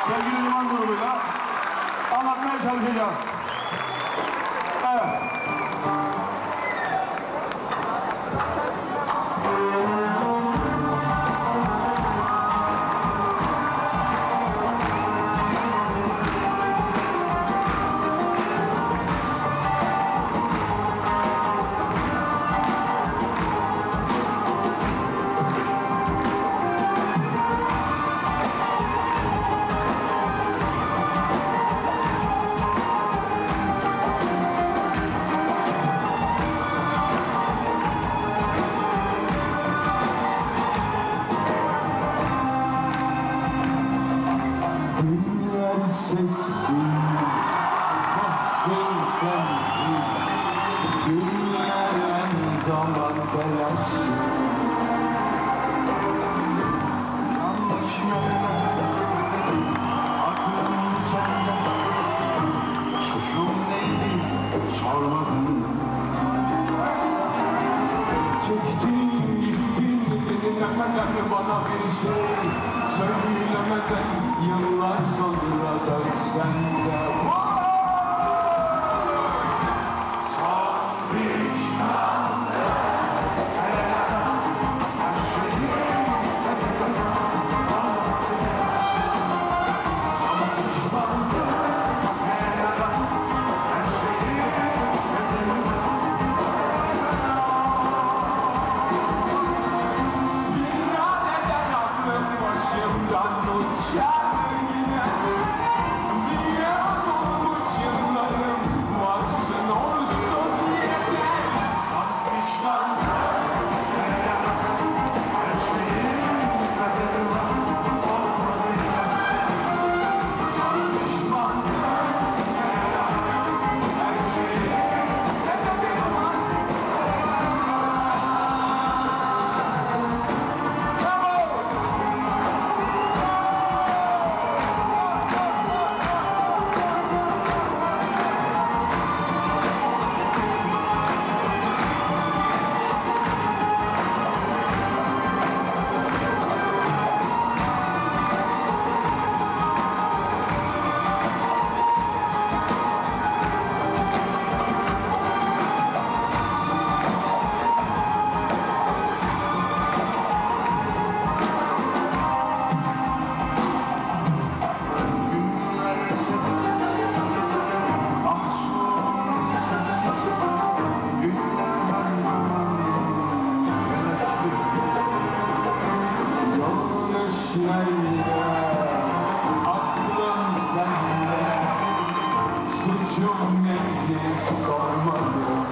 sevgili Liman grubuyla anlatmaya çalışacağız. Evet. Sessiz, mahzun sensiz, günlerin zaman telaşı. Yanlış yolda, aklım sende. Suçum neydi sormadın. Çektin gittin dinlemeden bana bir şey söylemeden yıllar sonra dönsen de Son pişman başımdan uçar yine. Ziyan olmuş yıllarım varsın olsun yeter. Son pişman her şeyin kaderi var olmadı ya. Son pişman her şeyin kaderi var. Nerede? Aklım sende, suçum neydi sormadım.